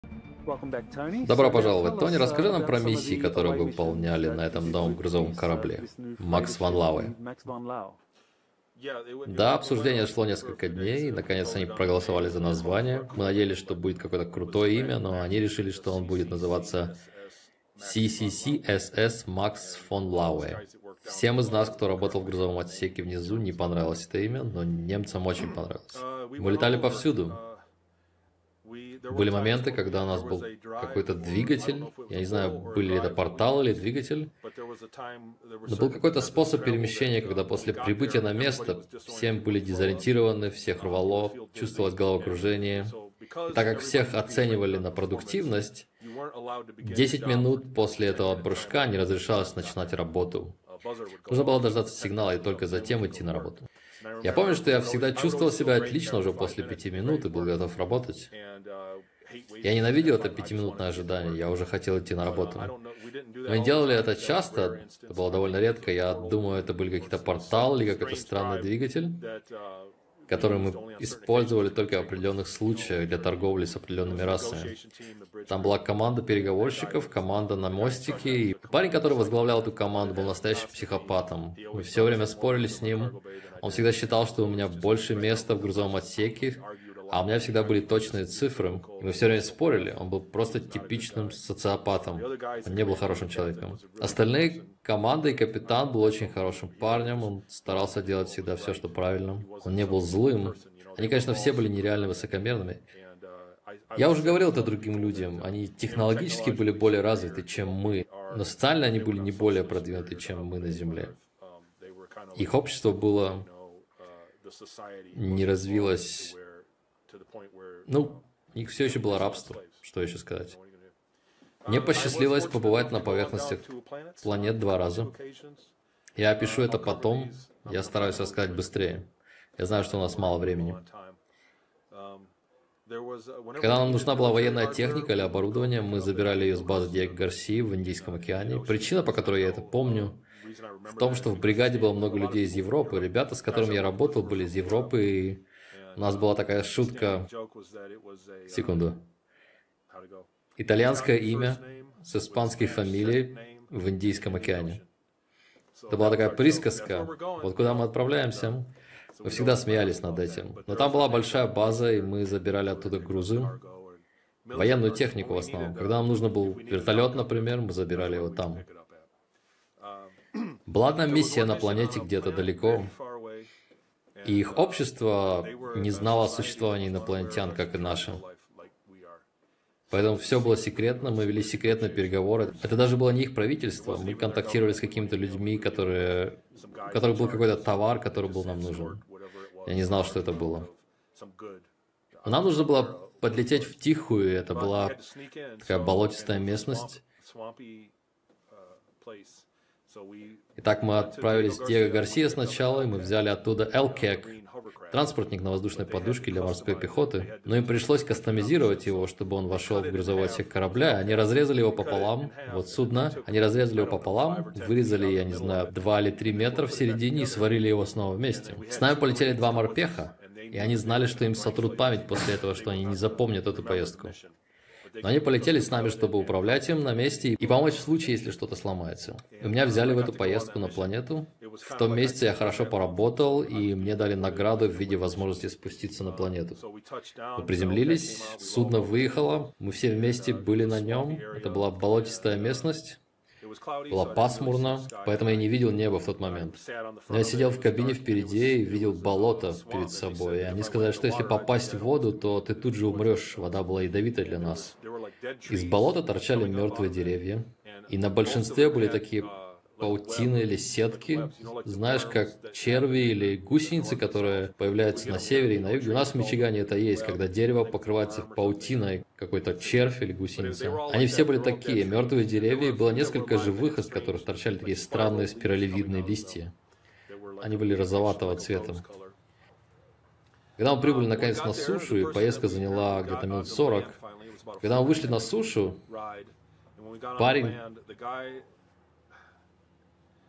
Добро пожаловать, Тони. Расскажи нам про миссии, которые вы выполняли на этом новом грузовом корабле. Макс Ван Лауэ. Да, обсуждение шло несколько дней, и наконец они проголосовали за название. Мы надеялись, что будет какое-то крутое имя, но они решили, что он будет называться CCCSS Макс фон Лауэ. Всем из нас, кто работал в грузовом отсеке внизу, не понравилось это имя, но немцам очень понравилось. Мы летали повсюду. Были моменты, когда у нас был какой-то двигатель, я не знаю, были ли это портал или двигатель, но был какой-то способ перемещения, когда после прибытия на место всем были дезориентированы, всех рвало, чувствовалось головокружение. И так как всех оценивали на продуктивность, 10 минут после этого прыжка не разрешалось начинать работу. Нужно было дождаться сигнала и только затем идти на работу. Я помню, что я всегда чувствовал себя отлично уже после 5 минут и был готов работать. Я ненавидел это 5-минутное ожидание, я уже хотел идти на работу. Мы не делали это часто, это было довольно редко. Я думаю, это были какие-то порталы или какой-то странный двигатель, который мы использовали только в определенных случаях для торговли с определенными расами. Там была команда переговорщиков, команда на мостике, и парень, который возглавлял эту команду, был настоящим психопатом. Мы все время спорили с ним. Он всегда считал, что у меня больше места в грузовом отсеке, а у меня всегда были точные цифры. И мы все время спорили. Он был просто типичным социопатом. Он не был хорошим человеком. Остальные команды и капитан был очень хорошим парнем. Он старался делать всегда все, что правильно. Он не был злым. Они, конечно, все были нереально высокомерными. Я уже говорил это другим людям. Они технологически были более развиты, чем мы. Но социально они были не более продвинуты, чем мы на Земле. Их общество было... не развилось... Ну, у них все еще было рабство, что еще сказать. Мне посчастливилось побывать на поверхностях планет 2 раза. Я опишу это потом, я стараюсь рассказать быстрее. Я знаю, что у нас мало времени. Когда нам нужна была военная техника или оборудование, мы забирали ее с базы Диего Гарсии в Индийском океане. Причина, по которой я это помню, в том, что в бригаде было много людей из Европы. Ребята, с которыми я работал, были из Европы, и у нас была такая шутка. Секунду. Итальянское имя с испанской фамилией в Индийском океане. Это была такая присказка. Вот куда мы отправляемся. Мы всегда смеялись над этим. Но там была большая база, и мы забирали оттуда грузы. Военную технику в основном. Когда нам нужен был вертолет, например, мы забирали его там. Была одна миссия на планете где-то далеко. И их общество не знало о существовании инопланетян, как и наше. Поэтому все было секретно, мы вели секретные переговоры. Это даже было не их правительство. Мы контактировали с какими-то людьми, у которых был какой-то товар, который был нам нужен. Я не знал, что это было. Но нам нужно было подлететь в тихую, это была такая болотистая местность. Итак, мы отправились в Диего Гарсия сначала, и мы взяли оттуда ЛКЭК, транспортник на воздушной подушке для морской пехоты. Но им пришлось кастомизировать его, чтобы он вошел в грузовой отсек корабля. Они разрезали его пополам, вот судно, они разрезали его пополам, вырезали, я не знаю, 2 или 3 метра в середине и сварили его снова вместе. С нами полетели 2 морпеха, и они знали, что им сотрут память после этого, что они не запомнят эту поездку. Но они полетели с нами, чтобы управлять им на месте и помочь в случае, если что-то сломается. И меня взяли в эту поездку на планету. В том месяце я хорошо поработал, и мне дали награду в виде возможности спуститься на планету. Мы приземлились, судно выехало, мы все вместе были на нем. Это была болотистая местность. Было пасмурно, поэтому я не видел неба в тот момент. Но я сидел в кабине впереди и видел болото перед собой. И они сказали, что если попасть в воду, то ты тут же умрешь. Вода была ядовитой для нас. Из болота торчали мертвые деревья. И на большинстве были такие паутины или сетки. Знаешь, как черви или гусеницы, которые появляются на севере и на юге. У нас в Мичигане это есть, когда дерево покрывается паутиной, какой-то червь или гусеница. Они все были такие, мертвые деревья, и было несколько живых, из которых торчали такие странные спиралевидные листья. Они были розоватого цвета. Когда мы прибыли наконец на сушу, и поездка заняла где-то минут 40, когда мы вышли на сушу, парень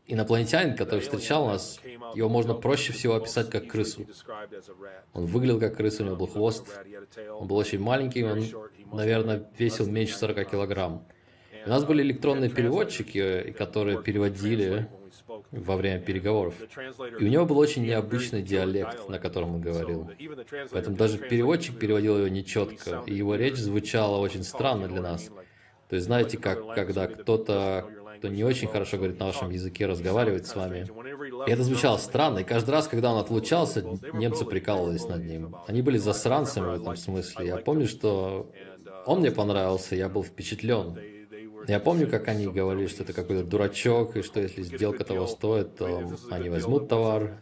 инопланетянин, который встречал нас, его можно проще всего описать как крысу. Он выглядел как крыса, у него был хвост, он был очень маленький, он, наверное, весил меньше 40 килограмм. У нас были электронные переводчики, которые переводили во время переговоров. И у него был очень необычный диалект, на котором он говорил. Поэтому даже переводчик переводил его нечетко, и его речь звучала очень странно для нас. То есть, знаете, как когда кто-то, кто не очень хорошо говорит на вашем языке, разговаривает с вами. И это звучало странно, и каждый раз, когда он отлучался, немцы прикалывались над ним. Они были засранцами в этом смысле. Я помню, что он мне понравился, я был впечатлен. Я помню, как они говорили, что это какой-то дурачок, и что если сделка того стоит, то они возьмут товар.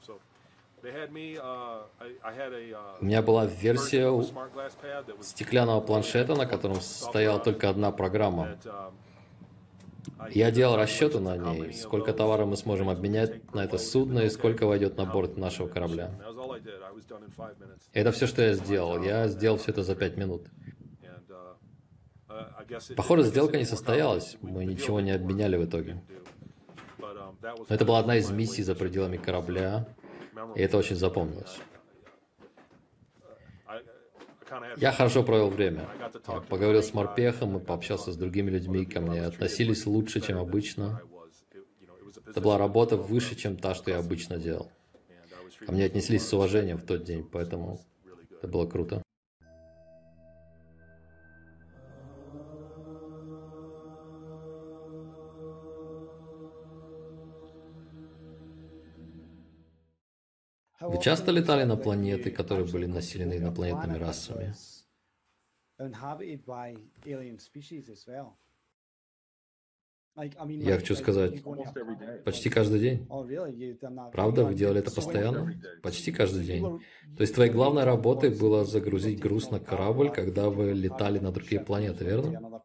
У меня была версия стеклянного планшета, на котором стояла только одна программа. Я делал расчеты на ней, сколько товара мы сможем обменять на это судно и сколько войдет на борт нашего корабля. Это все, что я сделал. Я сделал все это за 5 минут. Похоже, сделка не состоялась, мы ничего не обменяли в итоге. Но это была одна из миссий за пределами корабля, и это очень запомнилось. Я хорошо провел время. Я поговорил с морпехом и пообщался с другими людьми, ко мне относились лучше, чем обычно. Это была работа выше, чем та, что я обычно делал. Ко мне отнеслись с уважением в тот день, поэтому это было круто. Вы часто летали на планеты, которые были населены инопланетными расами? Я хочу сказать, почти каждый день. Правда? Вы делали это постоянно? Почти каждый день. То есть твоей главной работой было загрузить груз на корабль, когда вы летали на другие планеты, верно?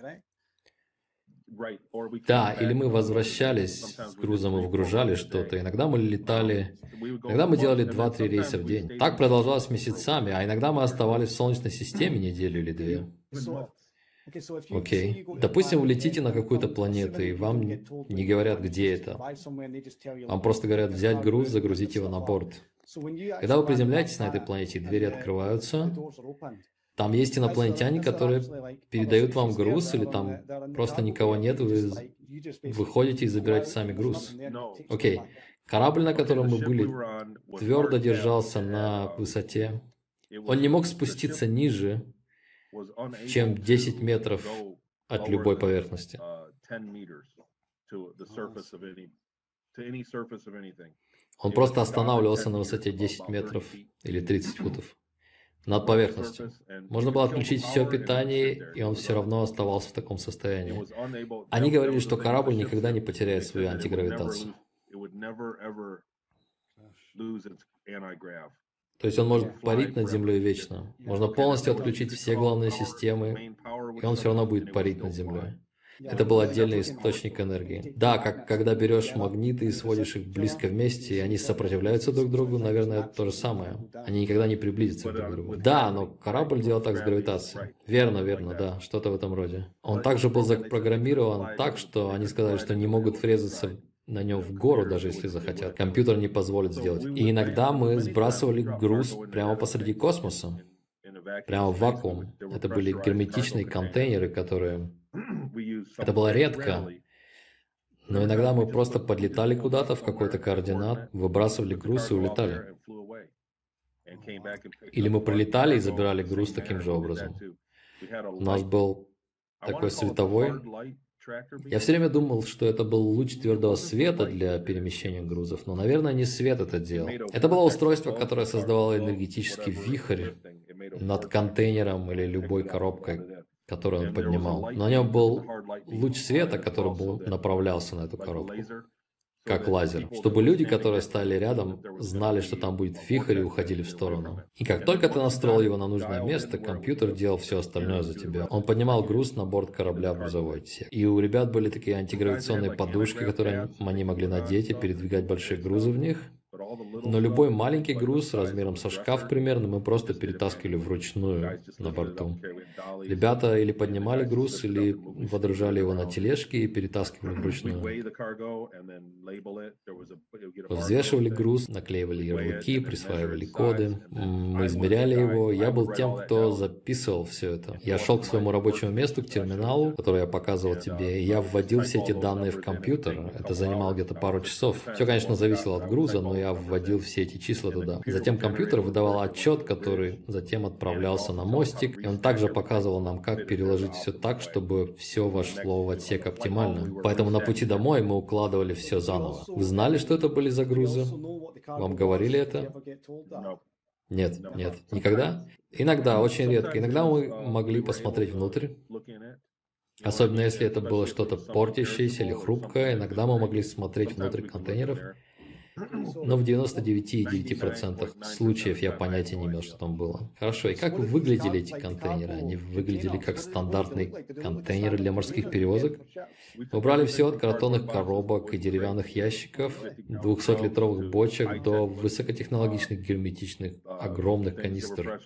Да, или мы возвращались с грузом и вгружали что-то. Иногда мы летали, иногда мы делали 2-3 рейса в день. Так продолжалось месяцами, а иногда мы оставались в Солнечной системе неделю или 2. Окей. Допустим, вы летите на какую-то планету, и вам не говорят, где это. Вам просто говорят взять груз, загрузить его на борт. Когда вы приземляетесь на этой планете, двери открываются. Там есть инопланетяне, которые передают вам груз, или там просто никого нет, вы выходите и забираете сами груз. Окей. Корабль, на котором мы были, твердо держался на высоте. Он не мог спуститься ниже, чем 10 метров от любой поверхности. Он просто останавливался на высоте 10 метров или 30 футов. Над поверхностью. Можно было отключить все питание, и он все равно оставался в таком состоянии. Они говорили, что корабль никогда не потеряет свою антигравитацию. То есть он может парить над землей вечно. Можно полностью отключить все главные системы, и он все равно будет парить над землей. Это был отдельный источник энергии. Да, как когда берешь магниты и сводишь их близко вместе, и они сопротивляются друг другу, наверное, это то же самое. Они никогда не приблизятся друг к другу. Да, но корабль делал так с гравитацией. Верно, верно, да, что-то в этом роде. Он также был запрограммирован так, что они сказали, что не могут врезаться на нем в гору, даже если захотят. Компьютер не позволит сделать. И иногда мы сбрасывали груз прямо посреди космоса. Прямо в вакуум. Это были герметичные контейнеры, которые... Это было редко, но иногда мы просто подлетали куда-то в какой-то координат, выбрасывали груз и улетали. Или мы прилетали и забирали груз таким же образом. У нас был такой световой... Я все время думал, что это был луч твердого света для перемещения грузов, но, наверное, не свет это делал. Это было устройство, которое создавало энергетический вихрь над контейнером или любой коробкой, которую он поднимал. На нем был луч света, который направлялся на эту коробку, как лазер, чтобы люди, которые стояли рядом, знали, что там будет вихрь, и уходили в сторону. И как только ты настроил его на нужное место, компьютер делал все остальное за тебя. Он поднимал груз на борт корабля в грузовой отсек. И у ребят были такие антигравитационные подушки, которые они могли надеть и передвигать большие грузы в них. Но любой маленький груз размером со шкаф примерно мы просто перетаскивали вручную на борту. Ребята или поднимали груз, или водружали его на тележки и перетаскивали вручную. Взвешивали груз, наклеивали ярлыки, присваивали коды. Мы измеряли его. Я был тем, кто записывал все это. Я шел к своему рабочему месту, к терминалу, который я показывал тебе, и я вводил все эти данные в компьютер. Это занимало где-то пару часов. Все, конечно, зависело от груза, но я вводил все эти числа туда. Затем компьютер выдавал отчет, который затем отправлялся на мостик, и он также показывал нам, как переложить все так, чтобы все вошло в отсек оптимально. Поэтому на пути домой мы укладывали все заново. Вы знали, что это были за грузы? Вам говорили это? Нет, нет. Никогда? Иногда, очень редко. Иногда мы могли посмотреть внутрь. Особенно если это было что-то портящееся или хрупкое, иногда мы могли смотреть внутрь контейнеров. Но в 99,9% случаев я понятия не имел, что там было. Хорошо, и как выглядели эти контейнеры? Они выглядели как стандартные контейнеры для морских перевозок. Мы брали все от картонных коробок и деревянных ящиков, 200-литровых бочек до высокотехнологичных герметичных огромных канистр.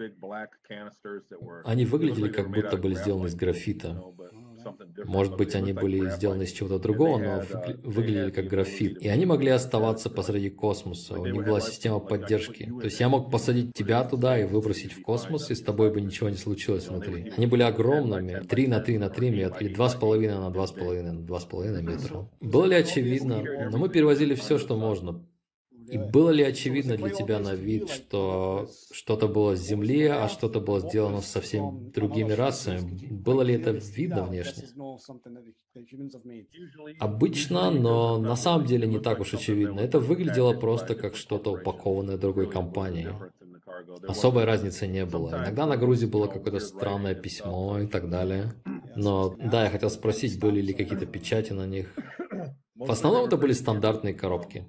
Они выглядели как будто были сделаны из графита. Может быть, они были сделаны из чего-то другого, но выглядели как графит. И они могли оставаться посреди космоса. У них была система поддержки. То есть я мог посадить тебя туда и выбросить в космос, и с тобой бы ничего не случилось внутри. Они были огромными, 3 на 3 на 3 метра, или 2,5 на 2,5 на 2,5 метра. Было ли очевидно? Но мы перевозили все, что можно. И было ли очевидно для тебя на вид, что что-то было с Земли, а что-то было сделано совсем другими расами? Было ли это видно внешне? Обычно, но на самом деле не так уж очевидно. Это выглядело просто как что-то упакованное другой компанией. Особой разницы не было. Иногда на грузе было какое-то странное письмо и так далее. Но да, я хотел спросить, были ли какие-то печати на них. В основном это были стандартные коробки.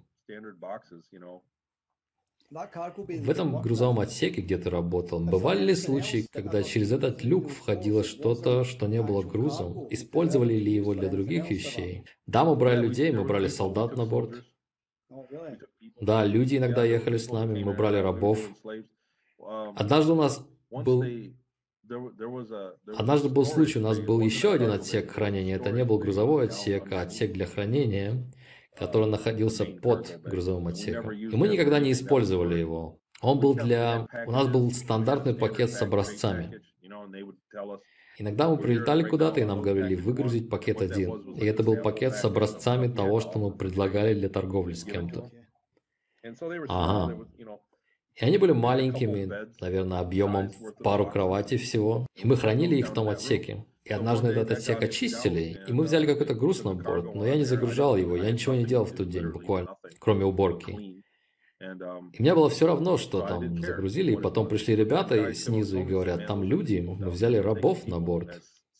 В этом грузовом отсеке, где ты работал, бывали ли случаи, когда через этот люк входило что-то, что не было грузом? Использовали ли его для других вещей? Да, мы брали людей, мы брали солдат на борт. Да, люди иногда ехали с нами, мы брали рабов. Однажды был случай, у нас был еще один отсек хранения. Это не был грузовой отсек, а отсек для хранения, который находился под грузовым отсеком. И мы никогда не использовали его. У нас был стандартный пакет с образцами. Иногда мы прилетали куда-то, и нам говорили выгрузить пакет один. И это был пакет с образцами того, что мы предлагали для торговли с кем-то. Ага. И они были маленькими, наверное, объемом в пару кроватей всего. И мы хранили их в том отсеке. И однажды этот отсек очистили, и мы взяли какой-то груз на борт, но я не загружал его, я ничего не делал в тот день, буквально, кроме уборки. И мне было все равно, что там загрузили, и потом пришли ребята снизу и говорят, там люди, мы взяли рабов на борт.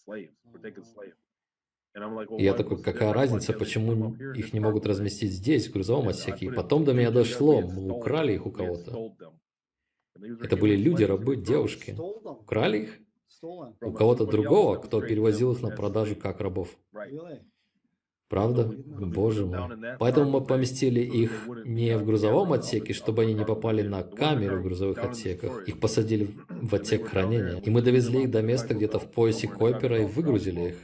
И я такой, какая разница, почему их не могут разместить здесь, в грузовом отсеке? И потом до меня дошло, мы украли их у кого-то. Это были люди, рабы, девушки. Украли их? У кого-то другого, кто перевозил их на продажу как рабов. Правда? Боже мой. Поэтому мы поместили их не в грузовом отсеке, чтобы они не попали на камеру в грузовых отсеках. Их посадили в отсек хранения. И мы довезли их до места где-то в поясе Койпера и выгрузили их.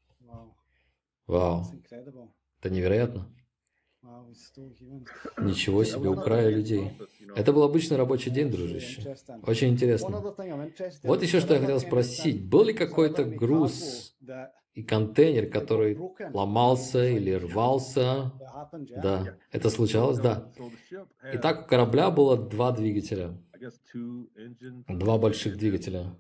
Вау. Это невероятно. Ничего себе, украли людей. Это был обычный рабочий день, дружище. Очень интересно. Вот еще что я хотел спросить. Был ли какой-то груз и контейнер, который ломался или рвался? Да. Это случалось? Да. Итак, у корабля было 2 двигателя. 2 больших двигателя.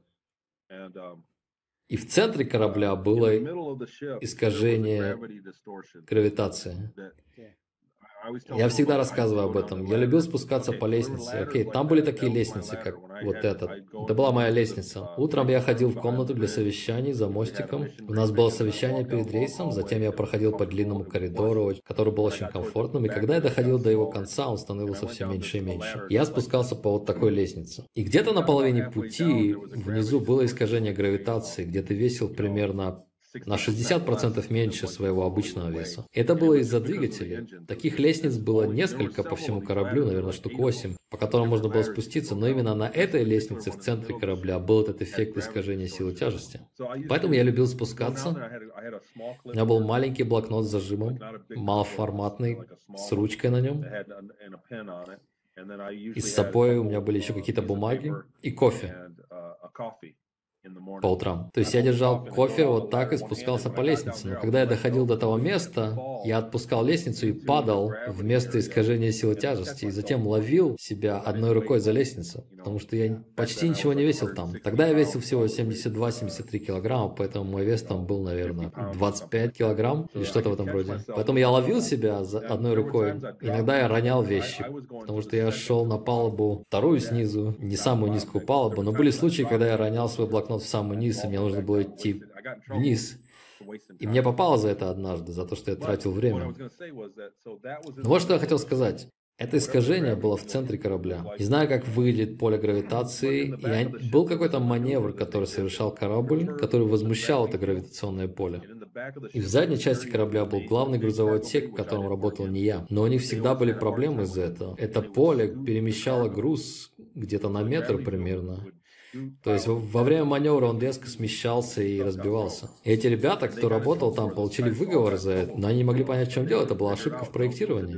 И в центре корабля было искажение гравитации. Я всегда рассказываю об этом. Я любил спускаться по лестнице. Окей, там были такие лестницы, как вот эта. Это была моя лестница. Утром я ходил в комнату для совещаний за мостиком. У нас было совещание перед рейсом, затем я проходил по длинному коридору, который был очень комфортным, и когда я доходил до его конца, он становился все меньше и меньше. Я спускался по вот такой лестнице. И где-то на половине пути внизу было искажение гравитации, где ты весил примерно на 60% меньше своего обычного веса. Это было из-за двигателей. Таких лестниц было несколько по всему кораблю, наверное, штук 8, по которым можно было спуститься, но именно на этой лестнице в центре корабля был этот эффект искажения силы тяжести. Поэтому я любил спускаться. У меня был маленький блокнот с зажимом, малоформатный, с ручкой на нем. И с собой у меня были еще какие-то бумаги и кофе по утрам. То есть я держал кофе вот так и спускался по лестнице. Но когда я доходил до того места, я отпускал лестницу и падал в место искажения силы тяжести. И затем ловил себя одной рукой за лестницу. Потому что я почти ничего не весил там. Тогда я весил всего 72-73 килограмма, поэтому мой вес там был, наверное, 25 килограмм или что-то в этом роде. Поэтому я ловил себя за одной рукой. Иногда я ронял вещи, потому что я шел на палубу вторую снизу, не самую низкую палубу. Но были случаи, когда я ронял свой блокнот в самый низ, и мне нужно было идти вниз. И мне попало за это однажды, за то, что я тратил время. Но вот что я хотел сказать. Это искажение было в центре корабля. Не знаю, как выглядит поле гравитации, и был какой-то маневр, который совершал корабль, который возмущал это гравитационное поле. И в задней части корабля был главный грузовой отсек, в котором работал не я. Но у них всегда были проблемы из-за этого. Это поле перемещало груз где-то на метр примерно. То есть во время маневра он резко смещался и разбивался. И эти ребята, кто работал там, получили выговор за это, но они не могли понять, в чем дело. Это была ошибка в проектировании.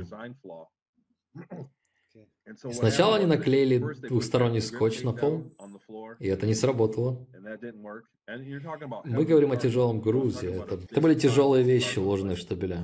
Сначала они наклеили двухсторонний скотч на пол, и это не сработало. Мы говорим о тяжелом грузе. Это были тяжелые вещи, уложенные в штабеля.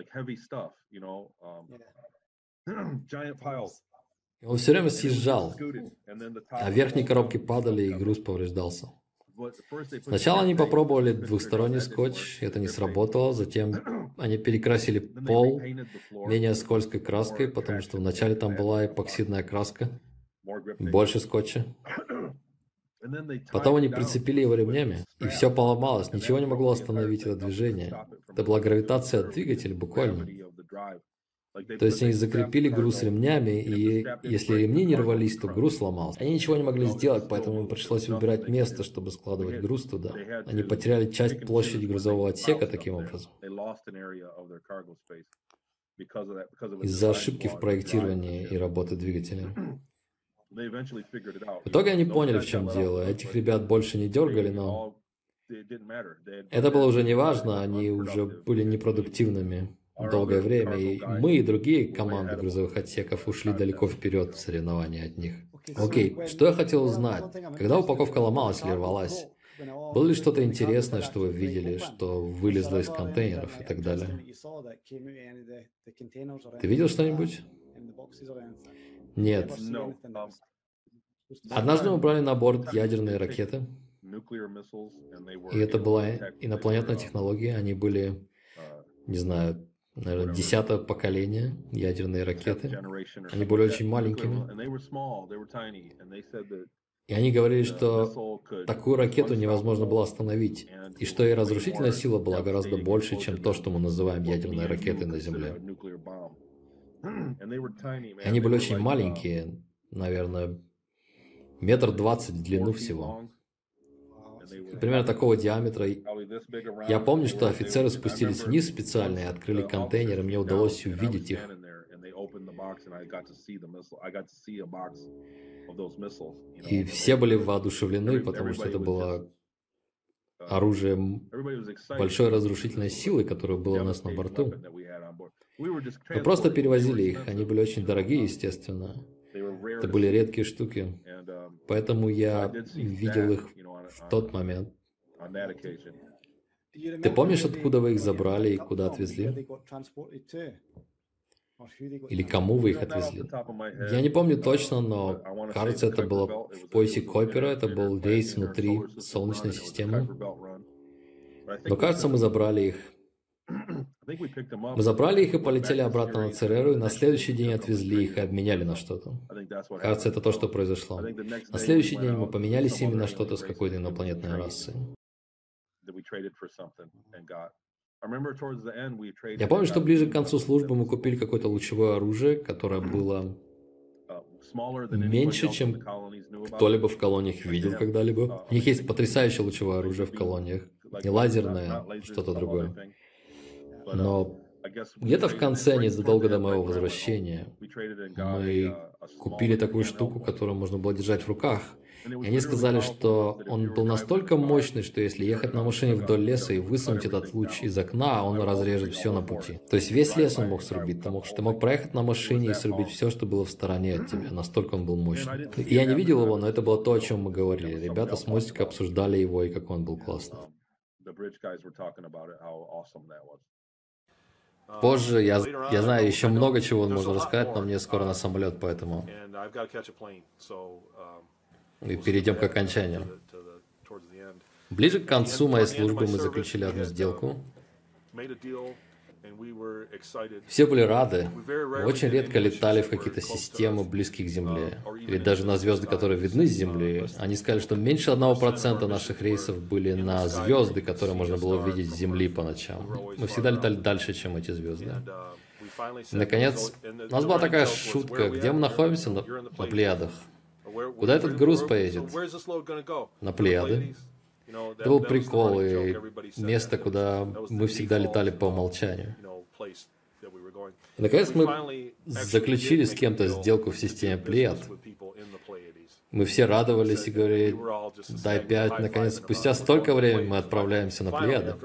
И он все время съезжал, а верхние коробки падали, и груз повреждался. Сначала они попробовали двухсторонний скотч, это не сработало, затем они перекрасили пол менее скользкой краской, потому что вначале там была эпоксидная краска, больше скотча. Потом они прицепили его ремнями, и все поломалось, ничего не могло остановить это движение. Это была гравитация от двигателя буквально. То есть они закрепили груз ремнями, и если ремни не рвались, то груз сломался. Они ничего не могли сделать, поэтому им пришлось выбирать место, чтобы складывать груз туда. Они потеряли часть площади грузового отсека таким образом. Из-за ошибки в проектировании и работы двигателя. В итоге они поняли, в чем дело. Этих ребят больше не дергали, но это было уже не важно, они уже были непродуктивными долгое время, и мы и другие команды грузовых отсеков ушли далеко вперед в соревновании от них. Окей, что я хотел узнать? Когда упаковка ломалась или рвалась, было ли что-то интересное, что вы видели, что вылезло из контейнеров и так далее? Ты видел что-нибудь? Нет. Однажды мы брали на борт ядерные ракеты, и это была инопланетная технология, они были, не знаю, наверное, 10-е поколение ядерные ракеты. Они были очень маленькими. И они говорили, что такую ракету невозможно было остановить, и что ее разрушительная сила была гораздо больше, чем то, что мы называем ядерной ракетой на Земле. И они были очень маленькие, наверное, 1,20 метра в длину всего. Примерно такого диаметра. Я помню, что офицеры спустились вниз специально и открыли контейнер, и мне удалось увидеть их. И все были воодушевлены, потому что это было оружие большой разрушительной силы, которое было у нас на борту. Мы просто перевозили их, они были очень дорогие, естественно. Это были редкие штуки, поэтому я видел их в тот момент. Ты помнишь, откуда вы их забрали и куда отвезли? Или кому вы их отвезли? Я не помню точно, но кажется, это было в поясе Койпера, это был рейс внутри Солнечной системы. Но кажется, мы забрали их. Мы забрали их и полетели обратно на Цереру, и на следующий день отвезли их и обменяли на что-то. Кажется, это то, что произошло. На следующий день мы поменялись ими на что-то с какой-то инопланетной расой. Я помню, что ближе к концу службы мы купили какое-то лучевое оружие, которое было меньше, чем кто-либо в колониях видел когда-либо. У них есть потрясающее лучевое оружие в колониях. Не лазерное, что-то другое. Но где-то в конце, незадолго до моего возвращения, мы купили такую штуку, которую можно было держать в руках. И они сказали, что он был настолько мощный, что если ехать на машине вдоль леса и высунуть этот луч из окна, он разрежет все на пути. То есть весь лес он мог срубить. Ты мог проехать на машине и срубить все, что было в стороне от тебя. Настолько он был мощный. И я не видел его, но это было то, о чем мы говорили. Ребята с мостика обсуждали его и как он был классный. Позже, я знаю еще много чего можно рассказать, но мне скоро на самолет, поэтому мы перейдем к окончанию. Ближе к концу моей службы мы заключили одну сделку. Все были рады. Мы очень редко летали в какие-то системы, близкие к Земле, или даже на звезды, которые видны с Земли. Они сказали, что меньше 1% наших рейсов были на звезды, которые можно было увидеть с Земли по ночам. Мы всегда летали дальше, чем эти звезды. И, наконец, у нас была такая шутка, где мы находимся на Плеядах. Куда этот груз поедет? На Плеяды. Это был прикол и место, куда мы всегда летали по умолчанию. И, наконец, мы заключили с кем-то сделку в системе Плеяд. Мы все радовались и говорили, дай 5. Наконец, спустя столько времени мы отправляемся на Плеяды.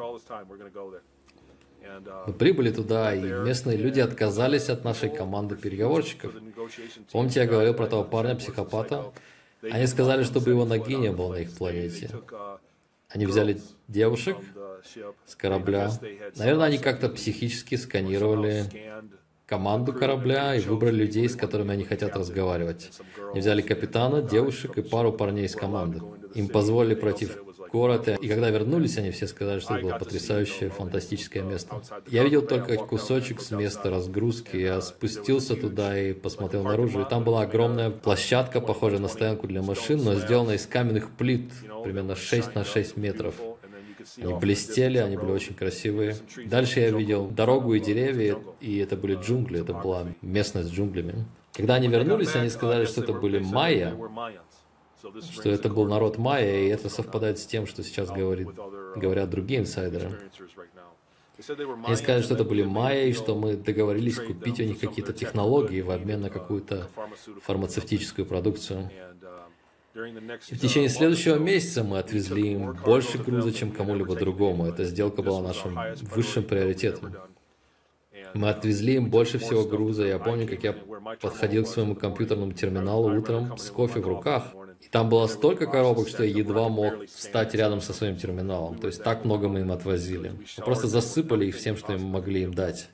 Мы прибыли туда, и местные люди отказались от нашей команды переговорщиков. Помните, я говорил про того парня-психопата? Они сказали, чтобы его ноги не было на их планете. Они взяли девушек с корабля. Наверное, они как-то психически сканировали команду корабля и выбрали людей, с которыми они хотят разговаривать. Они взяли капитана, девушек и пару парней из команды. Им позволили пройти в город, и когда вернулись, они все сказали, что это было потрясающее, фантастическое место. Я видел только кусочек с места разгрузки, я спустился туда и посмотрел наружу, и там была огромная площадка, похожая на стоянку для машин, но сделанная из каменных плит, примерно 6 на 6 метров. Они блестели, они были очень красивые. Дальше я видел дорогу и деревья, и это были джунгли, это была местность с джунглями. Когда они вернулись, они сказали, что это были майя, что это был народ майя, и это совпадает с тем, что сейчас говорят другие инсайдеры. Они сказали, что это были майя, и что мы договорились купить у них какие-то технологии в обмен на какую-то фармацевтическую продукцию. И в течение следующего месяца мы отвезли им больше груза, чем кому-либо другому. Эта сделка была нашим высшим приоритетом. Мы отвезли им больше всего груза. Я помню, как я подходил к своему компьютерному терминалу утром с кофе в руках. И там было столько коробок, что я едва мог встать рядом со своим терминалом. То есть так много мы им отвозили. Мы просто засыпали их всем, что мы могли им дать.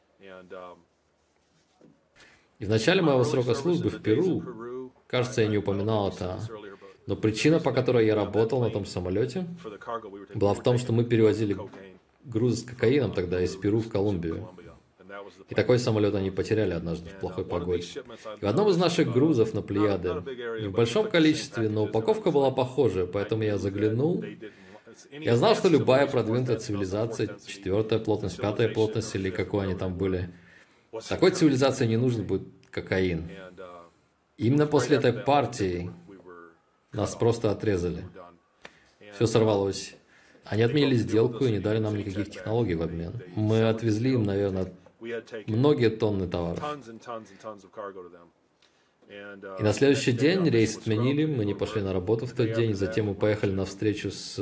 И в начале моего срока службы в Перу, кажется, я не упоминал это, но причина, по которой я работал на том самолете, была в том, что мы перевозили грузы с кокаином тогда из Перу в Колумбию. И такой самолет они потеряли однажды в плохой погоде. И в одном из наших грузов на Плеяды, не в большом количестве, но упаковка была похожая, поэтому я заглянул. Я знал, что любая продвинутая цивилизация, 4-я плотность, 5-я плотность или какой они там были, такой цивилизации не нужен будет кокаин. Именно после этой партии нас просто отрезали. Все сорвалось. Они отменили сделку и не дали нам никаких технологий в обмен. Мы отвезли им, наверное, многие тонны товаров. И на следующий день рейс отменили, мы не пошли на работу в тот день, затем мы поехали на встречу с...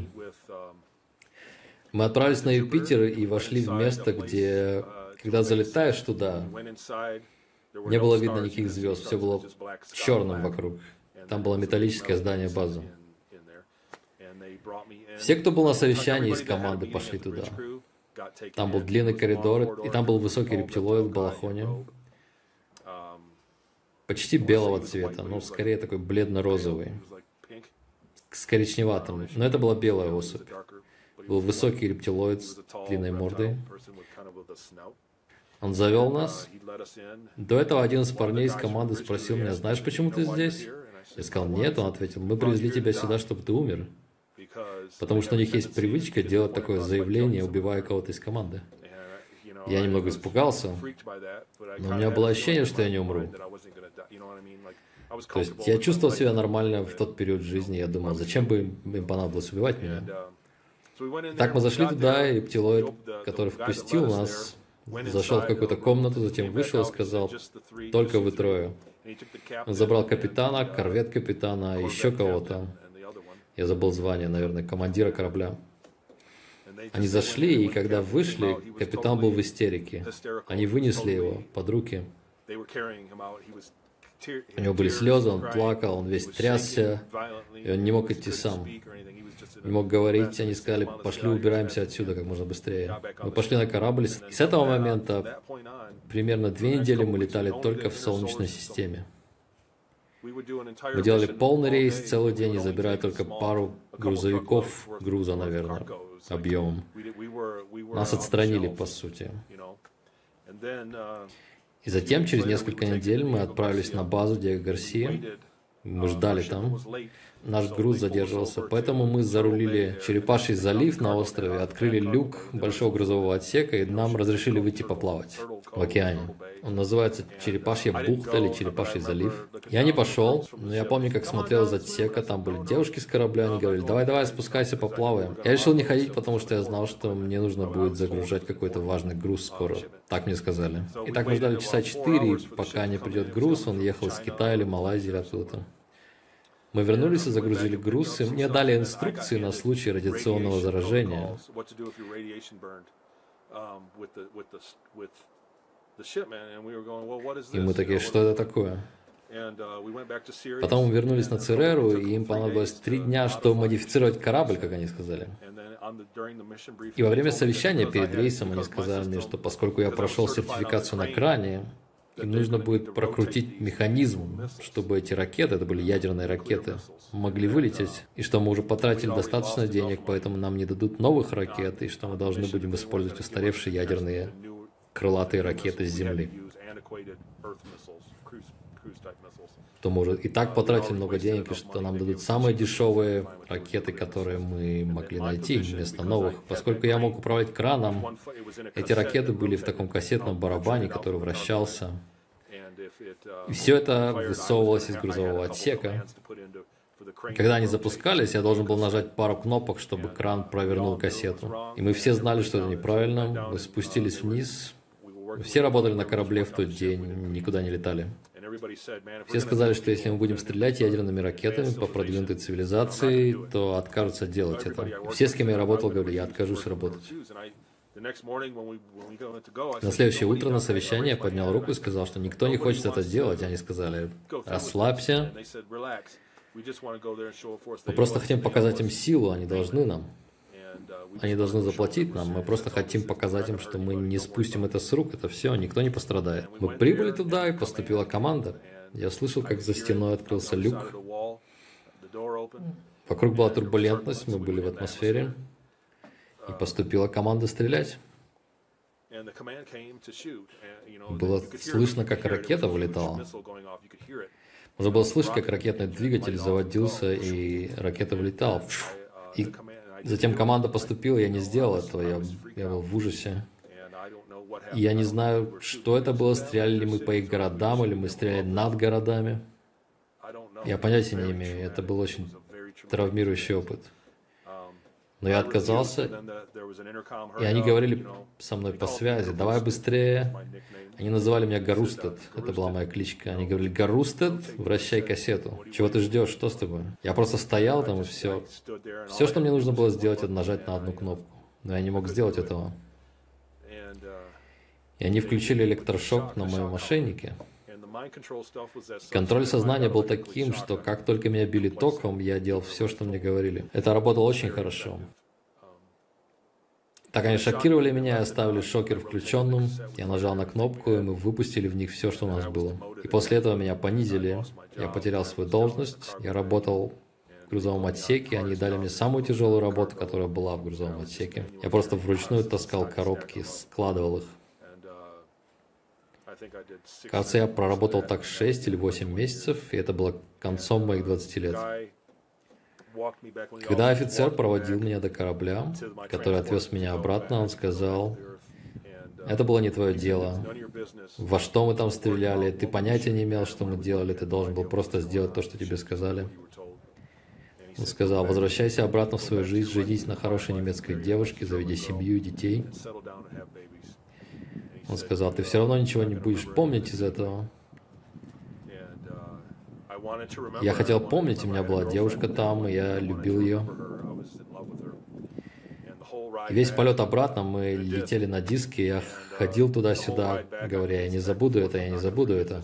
Мы отправились на Юпитер и вошли в место, где, когда залетаешь туда, не было видно никаких звезд, все было черным вокруг. Там было металлическое здание базы. Все, кто был на совещании из команды, пошли туда. Там был длинный коридор, и там был высокий рептилоид в балахоне. Почти белого цвета, но скорее такой бледно-розовый. С коричневатым. Но это была белая особь. Был высокий рептилоид с длинной мордой. Он завел нас. До этого один из парней из команды спросил меня, знаешь, почему ты здесь? Я сказал, нет. Он ответил, мы привезли тебя сюда, чтобы ты умер. Потому что у них есть привычка делать такое заявление, убивая кого-то из команды. Я немного испугался, но у меня было ощущение, что я не умру. То есть я чувствовал себя нормально в тот период жизни. Я думал, зачем бы им понадобилось убивать меня? Так мы зашли туда, и птилоид, который впустил нас, зашел в какую-то комнату, затем вышел и сказал: «Только вы трое». Он забрал капитана, корвет капитана, еще кого-то. Я забыл звание, наверное, командира корабля. Они зашли, и когда вышли, капитан был в истерике. Они вынесли его под руки. У него были слезы, он плакал, он весь трясся, и он не мог идти сам. Не мог говорить, они сказали: «Пошли, убираемся отсюда как можно быстрее». Мы пошли на корабль, и с этого момента примерно 2 недели мы летали только в Солнечной системе. Мы делали полный рейс целый день и забирали только пару грузовиков груза, наверное, объемом. Нас отстранили, по сути. И затем, через несколько недель, мы отправились на базу Диего Гарсия. Мы ждали там. Наш груз задерживался, поэтому мы зарулили Черепаший залив на острове, открыли люк большого грузового отсека, и нам разрешили выйти поплавать в океане. Он называется Черепашья бухта или Черепаший залив. Я не пошел, но я помню, как смотрел из отсека, там были девушки с корабля, они говорили: «Давай, спускайся, поплаваем». Я решил не ходить, потому что я знал, что мне нужно будет загружать какой-то важный груз скоро. Так мне сказали. И так мы ждали часа 4, пока не придет груз, он ехал из Китая или Малайзии или оттуда. Мы вернулись и загрузили груз, и мне дали инструкции на случай радиационного заражения. И мы такие: «Что это такое?» Потом мы вернулись на Цереру, и им понадобилось 3 дня, чтобы модифицировать корабль, как они сказали. И во время совещания перед рейсом они сказали мне, что поскольку я прошел сертификацию на кране, им нужно будет прокрутить механизм, чтобы эти ракеты, это были ядерные ракеты, могли вылететь, и что мы уже потратили достаточно денег, поэтому нам не дадут новых ракет, и что мы должны будем использовать устаревшие ядерные крылатые ракеты с Земли. То мы уже и так потратили много денег, и что нам дадут самые дешевые ракеты, которые мы могли найти вместо новых. Поскольку я мог управлять краном, эти ракеты были в таком кассетном барабане, который вращался. И все это высовывалось из грузового отсека. И когда они запускались, я должен был нажать пару кнопок, чтобы кран провернул кассету. И мы все знали, что это неправильно. Мы спустились вниз. Все работали на корабле в тот день, никуда не летали. Все сказали, что если мы будем стрелять ядерными ракетами по продвинутой цивилизации, то откажутся делать это. Все, с кем я работал, говорили: «Я откажусь работать». На следующее утро на совещании я поднял руку и сказал, что никто не хочет это делать. Они сказали: «Расслабься. Мы просто хотим показать им силу, они должны нам. Они должны заплатить нам, мы просто хотим показать им, что мы не спустим это с рук, это все, никто не пострадает». Мы прибыли туда, и поступила команда. Я слышал, как за стеной открылся люк. Вокруг была турбулентность, мы были в атмосфере. И поступила команда стрелять. Было слышно, как ракета вылетала. Можно было слышать, как ракетный двигатель заводился, и ракета вылетала. И затем команда поступила, я не сделал этого, я был в ужасе. И я не знаю, что это было, стреляли ли мы по их городам, или мы стреляли над городами. Я понятия не имею, это был очень травмирующий опыт. Но я отказался, и они говорили со мной по связи: «Давай быстрее». Они называли меня Гарустед, это была моя кличка. Они говорили: «Гарустед, вращай кассету. Чего ты ждешь, что с тобой?» Я просто стоял там, и все. Все, что мне нужно было сделать, это нажать на одну кнопку. Но я не мог сделать этого. И они включили электрошок на моем ошейнике. Контроль сознания был таким, что как только меня били током, я делал все, что мне говорили. Это работало очень хорошо. Так они шокировали меня и оставили шокер включенным. Я нажал на кнопку, и мы выпустили в них все, что у нас было. И после этого меня понизили. Я потерял свою должность. Я работал в грузовом отсеке. Они дали мне самую тяжелую работу, которая была в грузовом отсеке. Я просто вручную таскал коробки, складывал их. Кажется, я проработал так 6 или 8 месяцев, и это было концом моих 20 лет. Когда офицер проводил меня до корабля, который отвез меня обратно, он сказал: «Это было не твое дело. Во что мы там стреляли? Ты понятия не имел, что мы делали. Ты должен был просто сделать то, что тебе сказали». Он сказал: возвращайся обратно в свою жизнь, женись на хорошей немецкой девушке, заведи семью и детей. Он сказал: ты все равно ничего не будешь помнить из этого. Я хотел помнить, у меня была девушка там, и я любил ее. И весь полет обратно мы летели на диске, я ходил туда-сюда, говоря: я не забуду это, я не забуду это.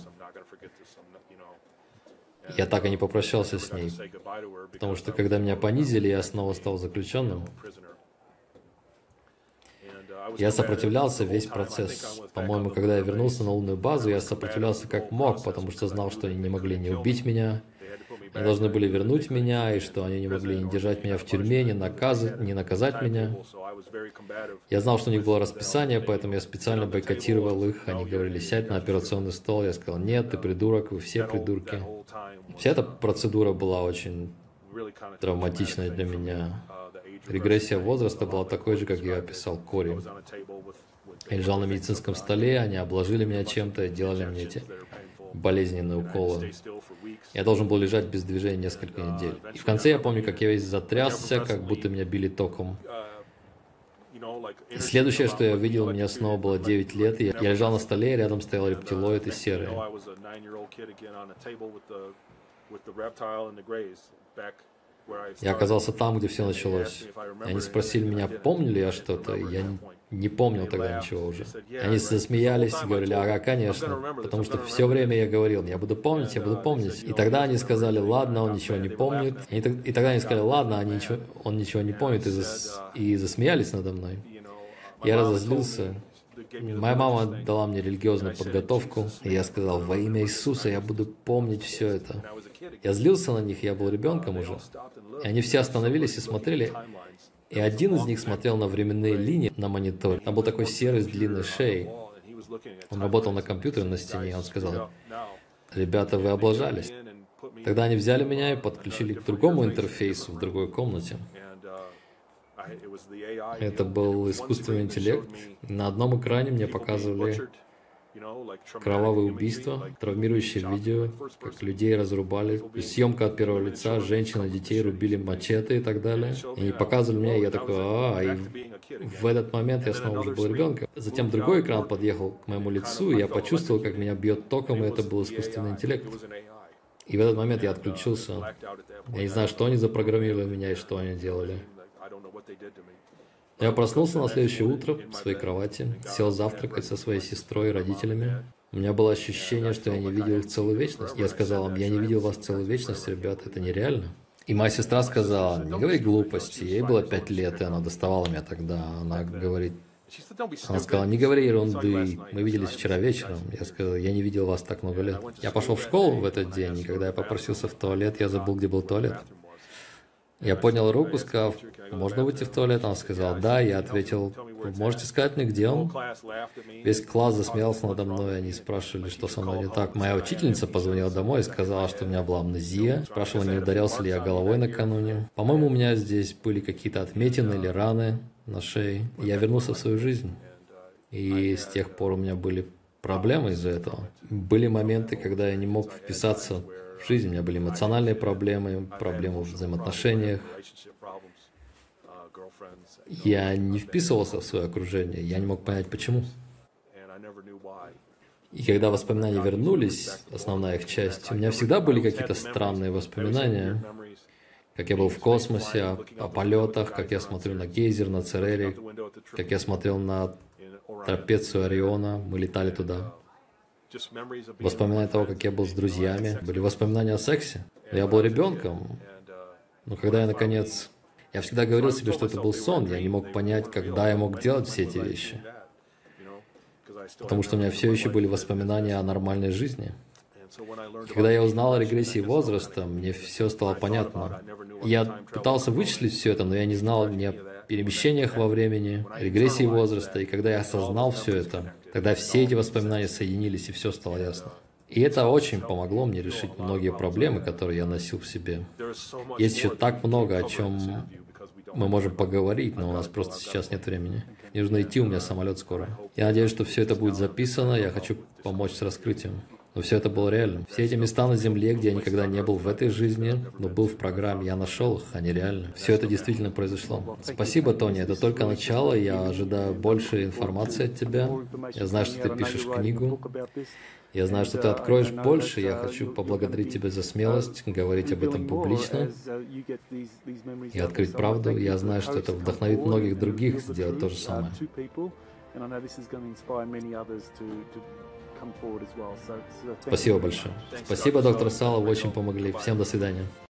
Я так и не попрощался с ней, потому что когда меня понизили, я снова стал заключенным. Я сопротивлялся весь процесс. По-моему, когда я вернулся на лунную базу, я сопротивлялся как мог, потому что знал, что они не могли не убить меня, они должны были вернуть меня, и что они не могли не держать меня в тюрьме, не наказать меня. Я знал, что у них было расписание, поэтому я специально бойкотировал их. Они говорили: сядь на операционный стол. Я сказал: нет, ты придурок, вы все придурки. Вся эта процедура была очень травматичной для меня. Регрессия возраста была такой же, как я описал Кори. Я лежал на медицинском столе, они обложили меня чем-то, делали мне эти болезненные уколы. Я должен был лежать без движения несколько недель. И в конце я помню, как я весь затрясся, как будто меня били током. И следующее, что я увидел, у меня снова было 9 лет, и я лежал на столе, и рядом стоял рептилоид и серый. Я оказался там, где все началось. И они спросили меня, помню ли я что-то, и я не помнил тогда ничего уже. Они засмеялись и говорили: ага, конечно, потому что все время я говорил: я буду помнить, я буду помнить. И тогда они сказали: ладно, он ничего не помнит. И тогда они сказали: ладно, он ничего не помнит, и засмеялись надо мной. Я разозлился. Моя мама дала мне религиозную подготовку, и я сказал: во имя Иисуса я буду помнить все это. Я злился на них, я был ребенком уже. И они все остановились и смотрели. И один из них смотрел на временные линии на мониторе. Там был такой серый с длинной шеей. Он работал на компьютере на стене, и он сказал: ребята, вы облажались. Тогда они взяли меня и подключили к другому интерфейсу в другой комнате. Это был искусственный интеллект. На одном экране мне показывали кровавые убийства, травмирующие видео, как людей разрубали, съемка от первого лица, женщин и детей рубили мачете и так далее. И они показывали меня, и я такой: и в этот момент я снова уже был ребенком. Затем другой экран подъехал к моему лицу, и я почувствовал, как меня бьет током, и это был искусственный интеллект. И в этот момент я отключился. Я не знаю, что они запрограммировали меня и что они делали. Я проснулся на следующее утро в своей кровати, сел завтракать со своей сестрой и родителями. У меня было ощущение, что я не видел их целую вечность. Я сказал им: я не видел вас целую вечность, ребят, это нереально. И моя сестра сказала: не говори глупости. Ей было 5 лет, и она доставала меня тогда. Она сказала: не говори ерунды, мы виделись вчера вечером. Я сказал: я не видел вас так много лет. Я пошел в школу в этот день, и когда я попросился в туалет, я забыл, где был туалет. Я поднял руку, сказав: можно выйти в туалет? Она сказала: да. Я ответил: вы можете сказать мне, где он? Весь класс засмеялся надо мной, они спрашивали, что со мной не так. Моя учительница позвонила домой и сказала, что у меня была амнезия. Спрашивала, не ударялся ли я головой накануне. По-моему, у меня здесь были какие-то отметины или раны на шее. Я вернулся в свою жизнь. И с тех пор у меня были проблемы из-за этого. Были моменты, когда я не мог вписаться в жизнь. У меня были эмоциональные проблемы, проблемы в взаимоотношениях. Я не вписывался в свое окружение, я не мог понять, почему. И когда воспоминания вернулись, основная их часть, у меня всегда были какие-то странные воспоминания, как я был в космосе, о полетах, как я смотрю на гейзер, на Церере, как я смотрел на трапецию Ориона, мы летали туда. Воспоминания того, как я был с друзьями, были воспоминания о сексе. Я был ребенком, но когда я, наконец... Я всегда говорил себе, что это был сон, я не мог понять, когда я мог делать все эти вещи. Потому что у меня все еще были воспоминания о нормальной жизни. И когда я узнал о регрессии возраста, мне все стало понятно. Я пытался вычислить все это, но я не знал ни о перемещениях во времени, регрессии возраста. И когда я осознал все это, тогда все эти воспоминания соединились, и все стало ясно. И это очень помогло мне решить многие проблемы, которые я носил в себе. Есть еще так много, о чем мы можем поговорить, но у нас просто сейчас нет времени. Мне нужно идти, у меня самолет скоро. Я надеюсь, что все это будет записано, я хочу помочь с раскрытием. Но все это было реальным. Все эти места на Земле, где я никогда не был в этой жизни, но был в программе, я нашел их, они реальны. Все это действительно произошло. Спасибо, Тони, это только начало, я ожидаю больше информации от тебя. Я знаю, что ты пишешь книгу. Я знаю, что ты откроешь больше, я хочу поблагодарить тебя за смелость, говорить об этом публично и открыть правду. Я знаю, что это вдохновит многих других сделать то же самое. Спасибо большое. Спасибо, доктор Сало, вы очень помогли. Всем до свидания.